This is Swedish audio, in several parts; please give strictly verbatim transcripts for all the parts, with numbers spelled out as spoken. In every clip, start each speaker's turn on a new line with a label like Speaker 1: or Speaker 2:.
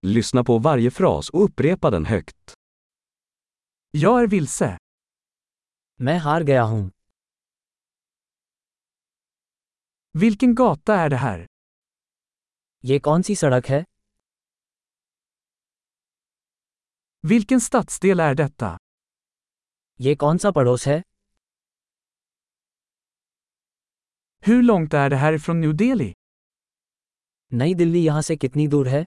Speaker 1: Lyssna på varje fras och upprepa den högt.
Speaker 2: Jag är vilse.
Speaker 3: मैं हार गया हूँ.
Speaker 2: Vilken gata är det här?
Speaker 3: ये कौन सी सड़क है?
Speaker 2: Vilken stadsdel är detta?
Speaker 3: ये कौन सा पड़ोस है?
Speaker 2: Hur långt är det härifrån New Delhi?
Speaker 3: नई दिल्ली यहाँ से कितनी दूर है?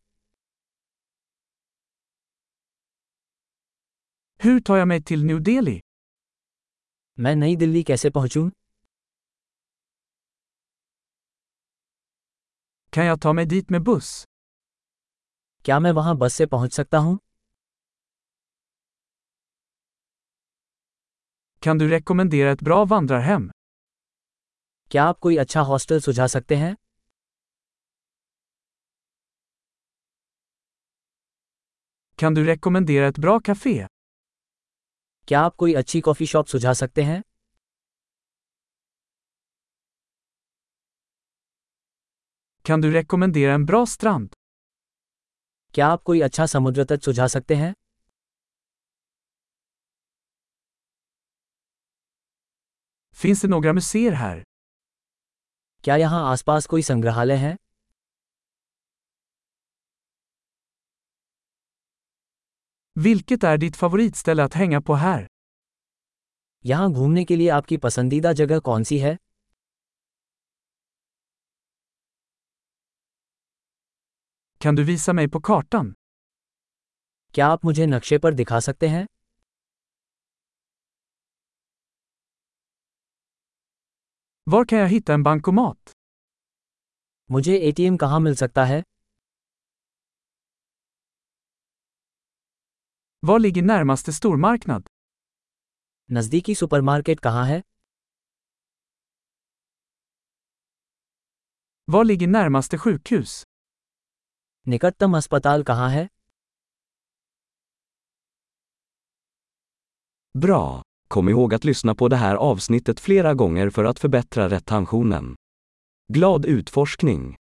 Speaker 2: Hur tar jag mig till New Delhi?
Speaker 3: मैं नई दिल्ली कैसे पहुँचूँ?
Speaker 2: Kan jag ta mig dit med buss?
Speaker 3: क्या मैं वहाँ बस से पहुँच सकता हूँ?
Speaker 2: Kan du rekommendera ett bra vandrarhem?
Speaker 3: क्या आप कोई अच्छा हॉस्टल सुझा सकते हैं?
Speaker 2: Kan du rekommendera ett bra café?
Speaker 3: क्या आप कोई अच्छी कॉफ़ी शॉप सुझा सकते हैं?
Speaker 2: Kan du rekommendera en bra strand?
Speaker 3: क्या आप कोई अच्छा समुद्र तट सुझा सकते हैं?
Speaker 2: Finns det några museer här?
Speaker 3: क्या यहाँ आसपास कोई संग्रहालय है?
Speaker 2: Vilket är ditt favoritställe att hänga på här?
Speaker 3: यहाँ घूमने के लिए आपकी पसंदीदा जगह कौन सी है?
Speaker 2: Kan du visa mig på kartan?
Speaker 3: क्या आप मुझे नक्शे पर दिखा सकते हैं?
Speaker 2: Var kan jag hitta en bankomat?
Speaker 3: मुझे एटीएम कहाँ मिल सकता है?
Speaker 2: Var ligger närmaste stormarknad?
Speaker 3: नज़दीकी सुपरमार्केट कहाँ है?
Speaker 2: Var ligger närmaste sjukhus?
Speaker 3: निकटतम अस्पताल कहाँ है?
Speaker 1: Bra! Kom ihåg att lyssna på det här avsnittet flera gånger för att förbättra retentionen. Glad utforskning!